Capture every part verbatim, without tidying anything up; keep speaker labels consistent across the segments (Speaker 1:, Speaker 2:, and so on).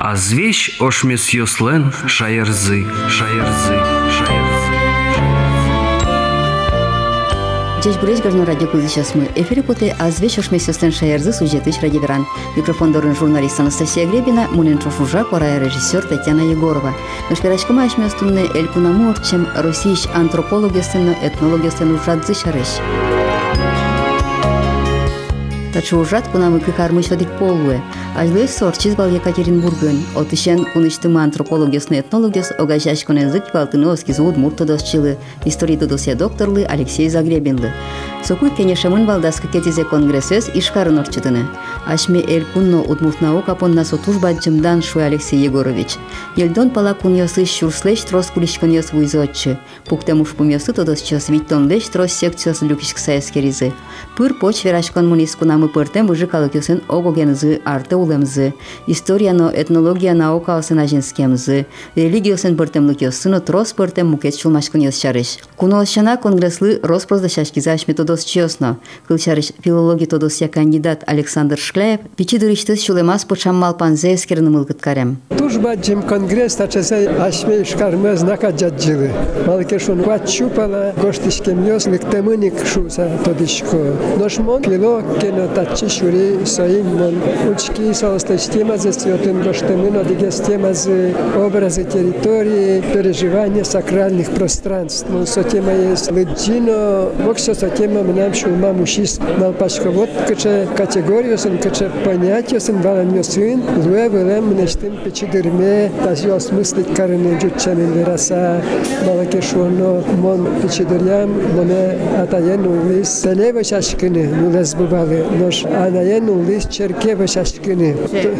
Speaker 1: А звещ ошмес йослен шаерзы, шаерзы, шаерзы.
Speaker 2: Здесь будет горно радио сейчас мы. Эфире поте а звещ ошмес йослен шаерзы сюжетыч радиоверан. Микрофон дорын журналист Анастасия Гребина, муленчо шужа, пора режиссер Татьяна Егорова. Наш пирачка маешь местунне элькунаму орчем российш антропологиястенно этнологиястенно ужадзы шарыш. Тачу ужат кунамы кыкармыш одик полуэ. Ажлы сорчиз бал Екатеринбургын. Отышен куныштыма антропологиясны этнологияс огажаш конезык валтыновский зуд муртодосчылы. Истории додосия докторлы Алексей Загребинлы. Сокуй кенешамын балдаскы кетизе конгрессес ишкарын орчытыны. Ашме эл кунно удмуртнау капонна сотуш баджымдан шуй Алексей Егорович. Елдон пала куньосы шурслеш трос кулишконьос вуйзотчы. Пуктемуш пумьосы тодосчос виттон леш трос секциос люкишк саескеризы. Пыр поч верашкон мунис кунамы пыртем выжикалыкюсын огогензы, арты улемзы. Историяно этнология наука осын ажинскемзы. Религиосын пыртемлыкюсыны трос пыртем мукет чулмашконьос шарыш. Кунолшана конгресслы роспроздашашкиза ашме тодос чиосно. Кылчарыш филологи тодосия кандидат Александр Шкляев пичидырыштыз шулемас почаммал панзе эскерны мылкыткарем.
Speaker 3: Тужбаджим конгресс тачасай ашме шкармы знака джаджилы. Малкешун квачупала гоштишкемьос лыктемыник шуса тодишко. Ношмон пило кено тачи шури соим мон учки соосточтема за сьотын гоштемыно дигестема за образы территории, переживания сакральных пространств. Ну, сотема есть лыджино, воксо сотема мнам шулма мушис малпашковод каче категорию сын каче понятие сын валаньо сын луэ вэлэм мнештым печидырме тазио осмыслить карыны джутчанын вераса малакешуоно мон печидырям моне атаен улис телева шашкыны нулез бубалы нош анаен улис черкева шашкыны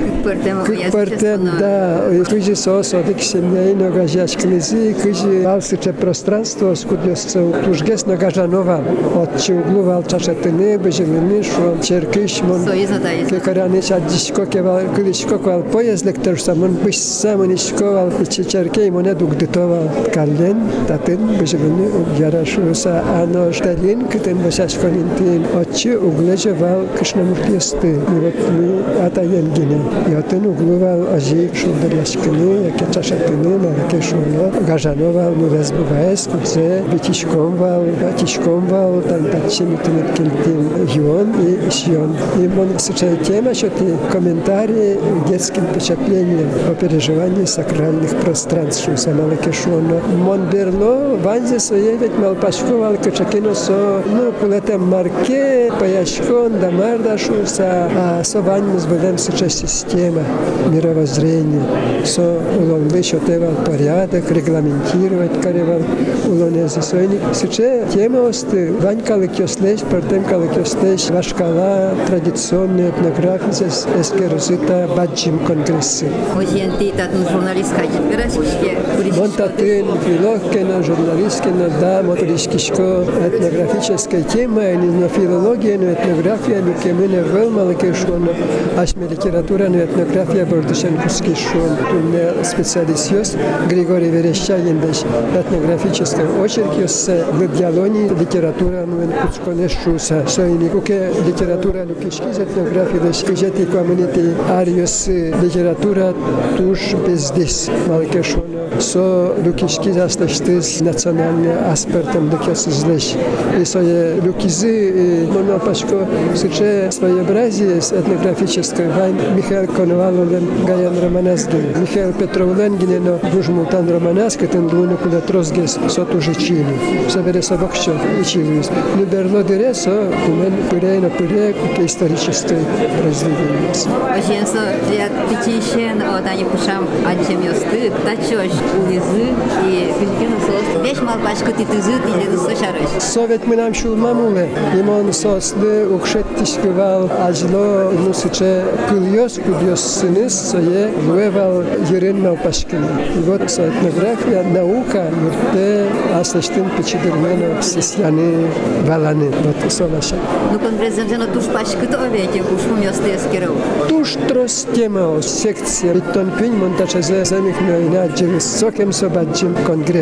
Speaker 3: кыкпыртем да кыжи соос одик семьяин огажашкынези кыжи алсыче пространство скуднёсца тужгес нагажанова отчи углувал чашатыны бежелыны шо черкыш мон кекараны шаддишко кевал кылышко квал поездек терсамон бышсамон ишковал ичи черкей моне дугдытовал каллен татын бежелыны ярашуса ано шталин кытын башашконинтин отчи углежевал кышнамуртьесты и вот мы атаенгине ятын углувал ажик шулдаряшкыны яке чашатыны нараке шуно гажановал мурезбываес куце битишкомвал батишкомвал там тачимитынет кельтин юон и шьон. И мон сычай тема, что ты комментарии детским впечатлением о переживании сакральных пространств, что самала кешоно. Мон берло ванзе своей ведь малпашковал качакино со ну кулетем марке паяшкон дамарда шуса а со ваньмус будем сычай система мировоззрения со улонлы шотевал порядок регламентировать каревал улонези сойник сычай тема осты вань калыкёслеш партем калыкёслеш вашкала традиционная этнография эскерзита баджим конгрессы.
Speaker 2: Озенти татн журналист кадит вераске.
Speaker 3: Вон татын филологкена журналисткена да моторишкишко этнографическая тема, не филология, но этнография, но кемene вэлмалыке шон, ашме литература, но этнография бордышенкуски шон. Тут специалист Григорий Верещагин даш этнографическая очерк с диалони литература, но куцконешуса. Соиникуке литература лукишки этнография даш кижети коммунити ариос литература туш бездис малыке шон. Со лукишки засташтыз национальный аспектом лукисызлеш. И свои лукизы монопашко суче своеобразие этнографическое вайн Михаил Коноваловлен Гаян Романасгин. Михаил Петровленгин, но Бужмултан Романаск, это луну куда трозгес сотуже чили. Собере собакчо и чилис. Но берло дересо, кумен пырейно пырей, как историческое произведение.
Speaker 2: Оженсо для пятищен, вот они пушам отчемёсты, тачёш улизы и пилькено сос. Вещь малпашка ты тызы, ты слышарыш.
Speaker 3: Совет мы нам шул мамуле, имон сослы укшеттишкивал ажло нусыче кыльёс кудьёс сыныс сое луевал ерен малпашкин. И вот этнография, наука, мурте, аслыштын печидырмено сесьяны валаны. Вот солаша.
Speaker 2: Ну конгрессом туш пашкы то ведь ушум ёсты эскеров.
Speaker 3: Туш трос тема секция. Иттон пинь монтачазе замих мёйна джирис сокем собаджим конгресс.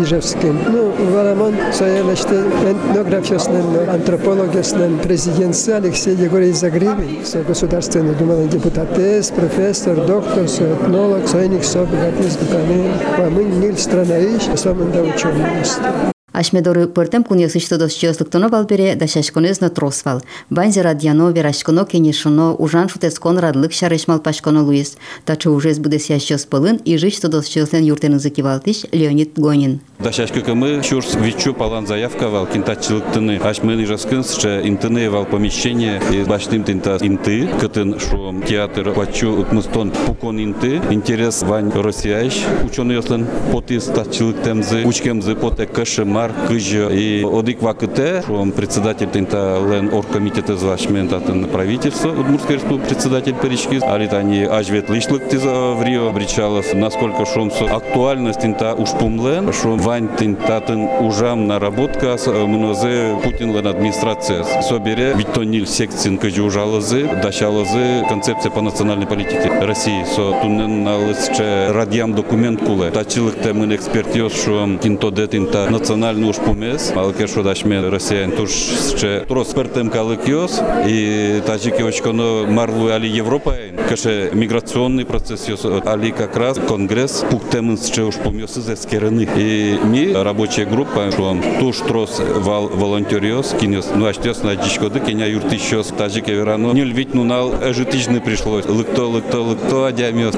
Speaker 3: Ижевским. Ну, Валамон соелеште этнографиясным, антропологиясным президентсы Алексей Егорович Загривин, со государственный думалый депутат, профессор, доктор, со этнолог, соеник, со богатырь, дуканы, вамын, ниль, страна ищ, самым да ученый.
Speaker 2: Ашмедоры пыртем куньясышты досчёслыктоно валбере да шашконезно тросвал. Банзи радьяно верашконо кенешоно ужан шутескон радлык шарешмал пашконо Луис. Тачы ужез будесящёс пылын и жичто досчёслен юртенызы кивалтыш Леонид Гонин.
Speaker 4: Дашашка кымы шурс вичу палан заявка вал кинтачылыктыны. Ашмыны раскынс, что интыны вал помещение и баштым тинта инты, кытын шум театр плачу утмыстон пукон инты. Интерес вань россияш ученый ослен поты стачылыктемзы, учкемзы поте кашемар кыжы и одик вакыте, шум председатель тинта лен оргкомитета звашмента тын правительство Удмуртской республики председатель Перечки, алитани ажвет лишлык тиза в Рио обречалось, насколько шум актуальность тинта ушпумлен, шум вань тинтатын ужам наработка мнозе Путин лен администрация. Собере витонил секцин кыжы ужалызы, дашалызы концепция по национальной политике России. Со туннен налысче радиам документ куле. Тачилык темын эксперт ёс шум тинтоде тинта национальный ушпумес. Малке шодашмен Россиян тушче троспертем калык ёс. И таджики очконо марлу али Европа. Каше миграционный процесс ёс. Али как раз конгресс пуктемын сче ушпумёсы зескерены. И ми рабочая группа шум туш трос вал волонтерёс кинёс. Ну аштёс на дичкоды кеня юртищёс таджики верано. Нюль ведь нунал житижны пришлось. Лыкто, лыкто, лыкто, адямёс.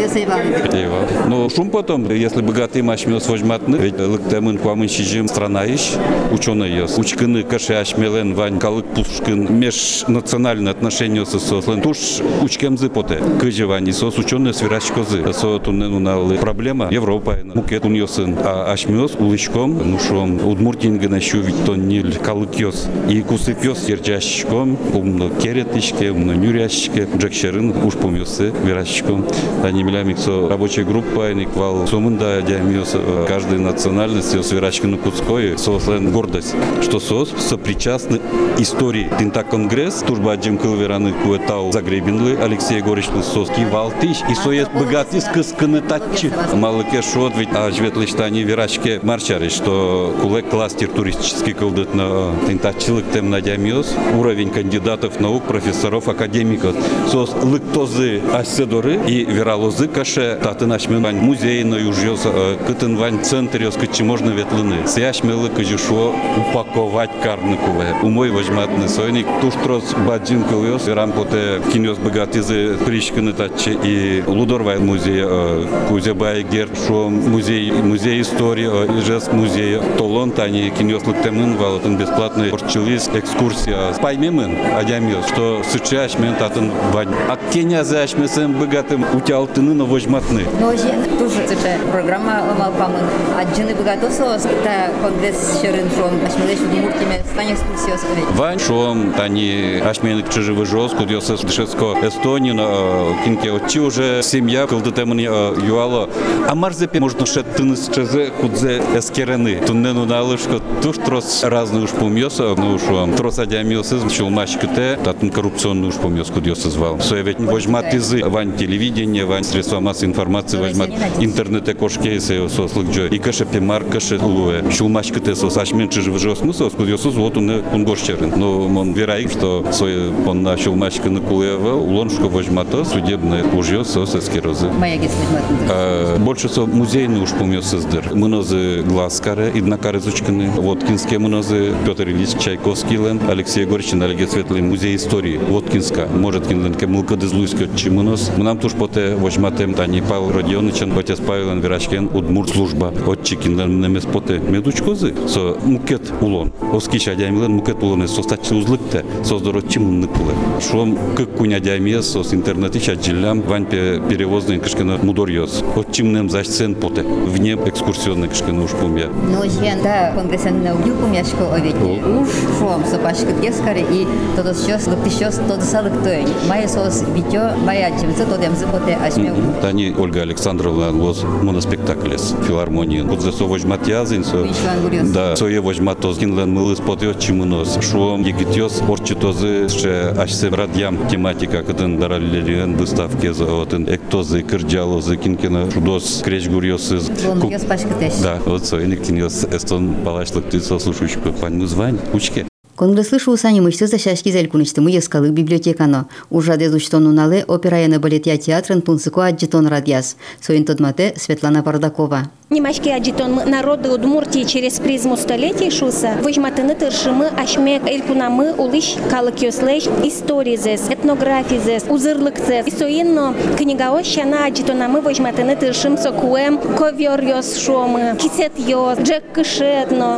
Speaker 4: Ну шум потом, если богатый машмёс возьматны, ведь лыктемын куамын шижим страна ищ, ученый ёс. Учкыны каше ашмелен вань калык пушкын межнациональные отношения с сослен. Туш учкемзы поте. Кыжи вань сос ученые свирачкозы. Со туннену на проблема Европа. Мукет уньосын. А ашмёс улычком, ну шом удмуртинга нащу ведь то ниль калык ёс. И кусыпёс ерджащиком, умно керетишке, умно нюрящике, джекшерын уж помёсы вирачком. Они милямик со рабочая группа, никвал сомында дямёс каждой национальности с вирачком куцкой, сослен гордость, что сос сопричастны истории. Тинта конгресс, тужба джемкыл вераны куэтау загребинлы, Алексей Егорович Лысовский, Валтыш, и соет богатый скысканы татчи. Малыке шот, ведь а живет лишь они вирачке марчары, что кулек кластер туристический колдет на тинтачилык тем на дямёс, уровень кандидатов наук, профессоров, академиков. Сос лыктозы аседоры и вералозы каше татын ашмен музей на южёс кытын вань центр ёс кычы можно ветлыны. Сяшмелы кыжышо упаковать карныкуве. Умой возьматны сойник туштрос баджин кылёс верам поте кинёс богатызы причканы татче и лудорвай музей кузебай гер шо музей музей истории ижес музей толон тани кинёс лыктемын валатын бесплатный орчылис экскурсия паймемын адямёс что сычаш мен татын вань а Кения зашмесем богатым утялтыны на возьматны.
Speaker 2: Но же тоже это программа малпамын аджины богатосос та конгресс шерин шон ашмелеш удмуртиме стань экскурсиос.
Speaker 4: Вань шон тани ашменик чижевы жос кудёс дышеско Эстонии кинке отчи уже семья кылдытемын юало а марзепе можно шет тыныс чезе кудзе эскерены туннену налышко туш трос разный уж помёса ну шон трос адямёсыз чулмашкыте татын коррупционный уж помёс кудёс звал. Совет возьмат изы вань телевидение вань средства массовой информации возьмат интернете кошки се сослык джой и каше пемар каше луэ чулмашкыте сос ашмен чижевы жос ну сос кудёсыз вот он он гошчерын но он вераик что свой он на чулмашкы на кулева улоншко возьмато судебное ужьё сос эскерозы. Больше со музейный уж помёс издыр. Мынозы глазкаре иднакары зучканы Воткинские мынозы Петр Ильич Чайковский лен Алексей Егорович Налеге Светлый музей истории Воткинска может кинлен кемылка дезлуйска чимынос. Мнам туш поте возьматем тани Павел Родионычен отец Павел Верашкен удмурт служба отчи кинлен немес поте медучкозы со мукет улон. Оскиш адямилен мукет улон со стачы узлыкте создоро чимынны куле. Шом как куня адямиес сос интернети чаджилям вань перевозный кышкена мудорьёс. Отчимнем зашцен поте вне экскурсионный кышкена уж помя.
Speaker 2: Но же да конгрессен на угю помяшко овеки. Уж шом сопашкы гескаре и тодос щас лыктыщёс тодосалык той. Мая сос витё мая Ачымсы тодемсы поте ашме.
Speaker 4: Тани Ольга Александровна воз моноспектаклес филармонии. Кудзесо вожмат язын, со да, сое вожмат тозгинлен мылыс потет чимунос. Шуом егитёс орчитозы ше ашсе радьям тематика кытын дараллерен выставке за отын эктозы кырджалозы кинкена шудос кречгурьосыз.
Speaker 2: Лонгёс пашкытеш.
Speaker 4: Да, вот со иниктинёс эстон палашлык ты сослушающий пань мызвань учке.
Speaker 2: Конгресслы шуусани мышцы защашки зелькуничтымы ескалы библиотекано. Ужаде зучтонуналы операяны балетия театрын тунсыко аджитон радьяс. Соин тодмате Светлана Бардакова.
Speaker 5: Немашки аджитон народы Удмуртии через призму столетий шуса. Выжматыны тыршимы ашме элькунамы улыш калыкёслэш историзес, этнографизес, узырлыкцес. Соинно книгаос шана аджитонамы выжматыны тыршим сокуэм ковёрьёс шомы, кисетьёс, джек кышетно,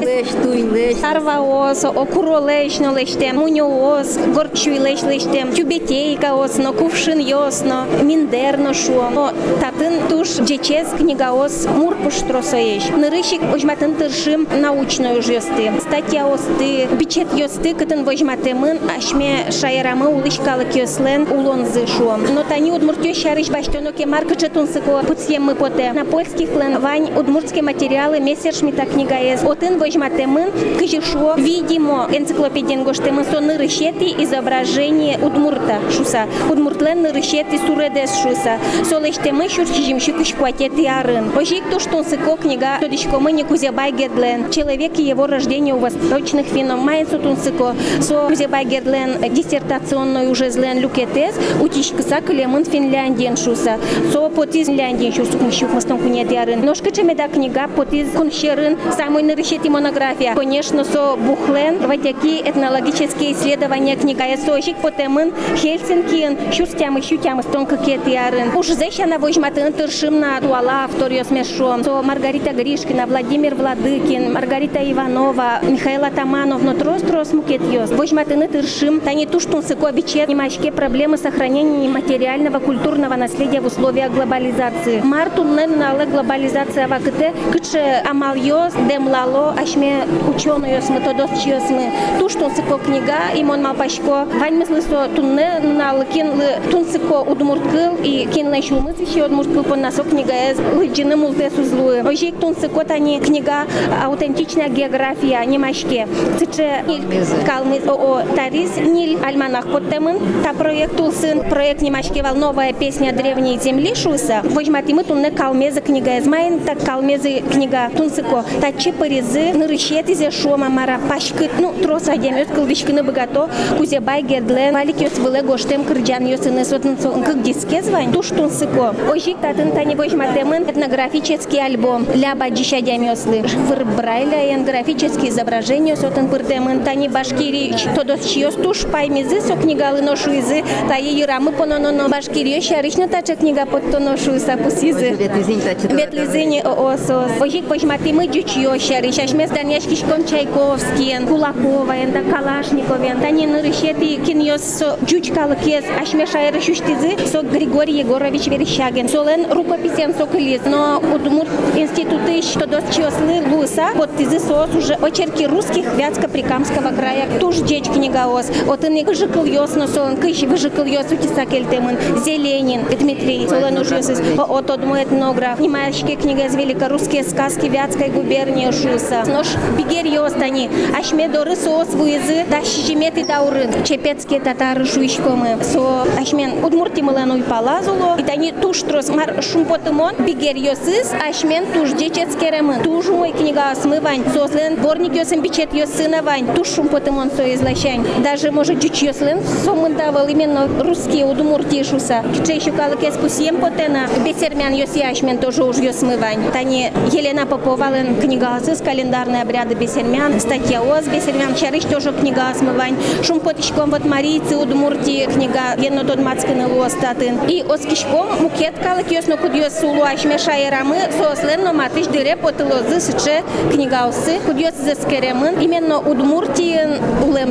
Speaker 5: арваос, окуролэшно лэштем, муньоос, горчуйлэш лэштем, тюбетейкаосно, кувшиньёсно, миндерно шом. Татын туш джечез книгаос мурпуш тросаеш. Нырыщик вожматын тыршим научную жесты. Статья осты, бичет ёсты, кытын вожматымын, ашме шайрамы улышкалы кёслен улонзы шуом. Но тани удмуртё шарыш баштоноке марка четунсыко путсеммы поте. На польских лен вань удмуртские материалы мессершмитта книга ез. Отын вожматымын, кыжишо, видимо, энциклопедиен гоштымын со нырыщети изображение удмурта шуса. Удмуртлен нырыщети суредес шуса. Солештемы шурчижимши кышкуатети арын. Ожик то, что сыко книга тодишкомыни Кузебай Гердлен. Человек и его рождение у восточных финнов. Майнсу тунсыко. Со Кузебай Гердлен диссертационную уже злен люкетес. Утишкаса калемын Финляндиен шуса. Со потиз Финляндиен шусу книщук мастон кунетярын. Ножка чемеда книга потиз кунщерын. Самой нарышети монография. Конечно, со бухлен. Ватяки этнологические исследования книга. Сожик потемын Хельсинкиен. Шурстям и щутям мастон какетярын. Уж зеща на вожматын тыршим на туала авториос смешом. То Маргарита Гришкина, Владимир Владыкин, Маргарита Иванова, Михаила Таманов, но трос-трос мукетьёс. Вожматыны тыршим, тани туштун сыкобичет, немашке проблемы сохранения материального культурного наследия в условиях глобализации. Мартун неннале глобализация вакыте, кыче амальёс, демлало, ашме учёныёс, методосчиёс мы. Туштун сыко книга, имон малпашко, вань мыслысо тунне налыкин тунсыко удмурткыл и кинлай шулмыс еще удмурткыл по насок книга эз лыджины мултесу злую. Ожик тунсыко тани книга аутентичная география немашке. Цыче калмыз о тарис ниль альманах подтемын. Та проект тулсын проект немашке вал новая песня древней земли шуса. Вожматимы тунне калмезы книга эз майн так калмезы книга тунсыко. Тачи паризы нырыщети зе шома мара пашкыт ну трос адемёс кылдышкыны богато Кузебай Гердлен валикёс выле гоштем кырджан ёсыны сотнцо кык диске звань туш тунсыко. Ожик татын тани вожматемын этнографический альбом ля баджища дямёслы. Вырбрайля этнографические изображения сотен пыртемын тани башкирич тодос чиёс туш паймизы со книгалы ношуизы таи юрамы понононо башкириё шарышно тача книга подтоношу сапусизы. Ветлизыни оосос. Ожик вожматимы дючиё шарыш ашмес Даняшкишкон Чайковский, Кулакова, энда Калашниковен, тани нырыщети киньёс со дючкалы кез ашме шайры шуштизы со Григорий Егорович Верещагин. Солен рукописен со кылиз, но удмурт институты что до чёслы луса под тизы сос уже очерки русских Вятско-Прикамского края. Туж деч книгаос. Вот он выжикал ёсно солен кыщ выжикал ёс утисакель темын. Зеленин Дмитрий солен уж ёсыс. От одмой этнограф. Немашки книга из великорусские сказки Вятской губернии шуса. Нож бигер ёстани. Ашме доры сос вызы. Дащимети даурын. Чепецкие татары шуишкомы. Со ашмен удмурти мыленуй палазуло. И тани туш трос мар шумпотымон бигер ёсыс. Ашмен туж дечец керемын. Туж мой книга смывань. Сослен дворник ёсым бичет ёсына вань. Туж шумпотымон со излащань. Даже может дюч ёслен сомындавал именно русские удмуртии шуса. Киче еще калыкес пусием потена. Бесермян ёси ашмен тоже уж ёсмывань. Тани Елена Попова лен книга с календарные обряды бесермян. Статья оз бесермян чарыш тоже книга смывань. Шумпотичком вот марийцы удмуртии книга енно тот мацканы луостатын. И оскишком мукет калык ёсно куд ёсулу ашме шайрамы сослен но матыш дыре потылозы сыче книгаусы куд ёс зескеремын именно удмуртиен улемзы.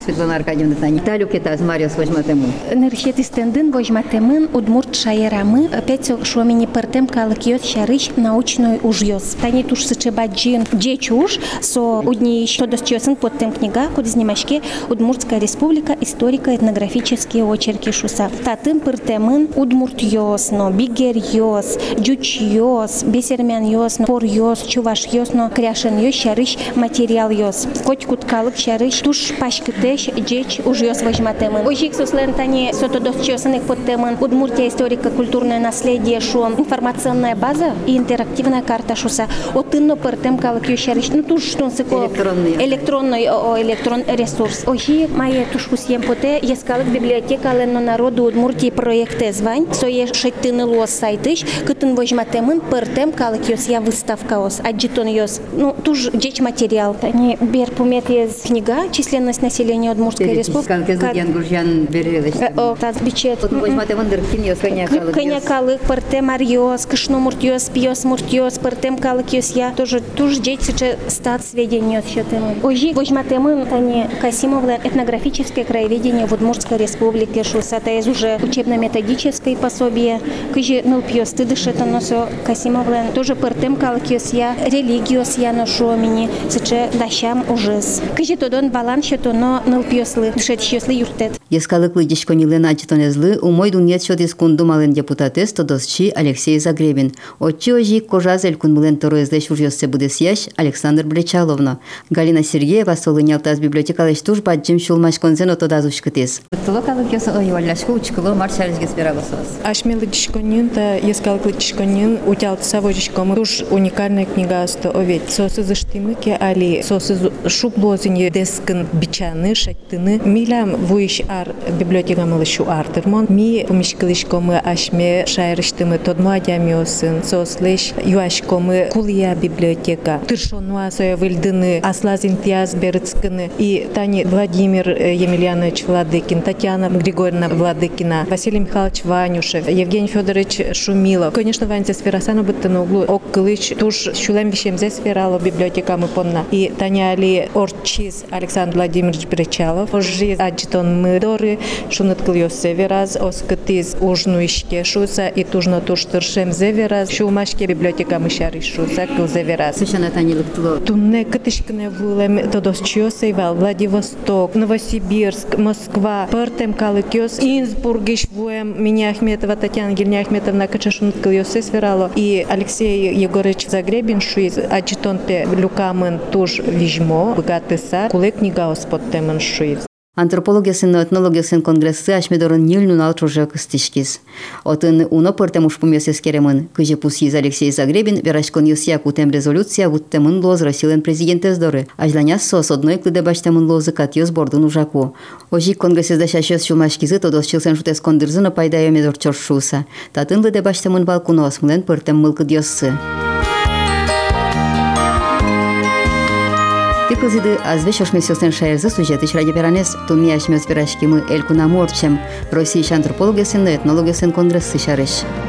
Speaker 2: Светлана Аркадьевна Тани. Талю кетаз Мариос возьматему.
Speaker 5: Нершет истендин возьматемын удмурт шаерамы опять шомини пертем калыкиос шарыш научной ужьёс. Тани туш сычебаджин джечуш со удни что досчёсын под тем книга куд снимашке Удмуртская республика историко-этнографические очерки шуса. Татын пертемын удмуртьёс, но бигерьёс, джучьёс, бесермяньёс, порьёс, чувашьёс, но кряшеньёс шарыш материал ёс. Коть куд калык шарыш туш пашкытеш джеч ужьёс возьматемын. Ожик суслен тани сото досчёсыных под темын Удмуртия историко-культурное наследие шо информационная база и интерактивная карта шуса. Отынно пертем калык ёшарыш. Ну туш что сыко
Speaker 2: Электронный.
Speaker 5: электронный электрон ресурс. Ожи мае тушкусьем поте ескалык библиотека ленно народу Удмуртии проекте звань. Сое шеттыны лос сайтыш. Кытын возьматемын пертем калык ёс я выставка ос. Аджитон ёс. Ну туш джеч материал. Тани бер пумет ез книга численность населения Удмуртской республики.
Speaker 2: Ян Гуржан берелеш.
Speaker 5: О, таз бичет.
Speaker 2: Возьматемын дыркин ёс коня калык.
Speaker 5: Коня калык, пертем арьёс, кышно муртьёс, пьёс муртьёс, пертем калык ёс я. Тоже туж джеч сыче стат сведения счётемын. Ожи возьматемын тани Касимовла этнографическое краеведение в Удмуртской республике шуса. Это из уже учебно-методическое пособие. Кыжи ныл пьёс ты дышет носо Касимовла. Тоже пертем калык ёс я, религиос я ношу мини сыче дащам ужес. Кыжи тодон балан счёто, но ныл пьёслы дышет счёслы юртет.
Speaker 2: Ескалыклы дишконилен аджитонезлы умой дунет шот искунду мален депутатес тодосчи Алексей Загребин. Отчи ожи кожазель кунмулен тороездеш ужьёссе будесьяш Александр Блечаловна. Галина Сергеева солынялтаз библиотекалеш туш баджим шулмаш конзен отодазушкытес. Толокалык ёс ойвалляшку учкыло маршализге сперагосос.
Speaker 6: Ашмелы дишконин та ескалыклы дишконин утялтса вожичкому туш уникальная книга сто овет. Сосы заштимыке али сосы шублозине дескын бичаны шаттыны милям вуиш ар библиотека малышу артырмон ми помишкалышкомы ашме шайрыштымы тодмо адямиосын сослеш юашкомы кулия библиотека тыршонуа соя выльдыны аслазин тяз берыцкыны и Тани Владимир Емельянович Владыкин, Татьяна Григорьевна Владыкина, Василий Михайлович Ванюшев, Евгений Федорович Шумилов. Конечно, Ваньца сферасану быты на углу оккылыч туш шулем вещем зе сферало библиотека мы понна. И Таня Али Орчиз Александр Владимирович Бречалов. Ожи аджитон мы доры шуныткыл севераз оскытиз ужну ишке шуса и тужно туш тыршем зевераз шумашке библиотека мы шары шуса кыл зевераз.
Speaker 2: Сушана Тани лыктыло.
Speaker 6: Тунне кытышкыне вулем тодосчио сейвал Владивосток, Новосибирск, Москва, пертем калыкёс, Инсбург ишвуем меня Ахметова Татьяна Гильня Ахметовна качашуныткыл ёсе сферало и Алексей Егорович Загребин шуиз аджитон пе люкамын туш вижмо богатыса куле книга оспоттемын шуиз.
Speaker 2: Антропологиясын, этнологиясын конгрессы ашмедорын нильнун алтружа кыстишкиз. Отын уно пыртем ушпумес ескеремын. Кыжи пусиз Алексей Загребин верашкон юсия кутем резолюция вуттемын лоз Россиялен президентез доры. Ажланяс сос одной клыде баштемын лозы катьёс бордун ужаку. Ожи конгрессезда шашёс шумашкизы тодосчилсен шутес кондырзына пайдайо медор чоршуса. Татын лыде баштемын балкуно осмылен пыртем мылкыд ёссы. Тикызыды азвеш ошмесёсен шайырзы сюжетыч ради перанес тунни ашмёс пирашкимы элькунаморчем Россия антропологиясын, этнологиясын конгрессы шарыш.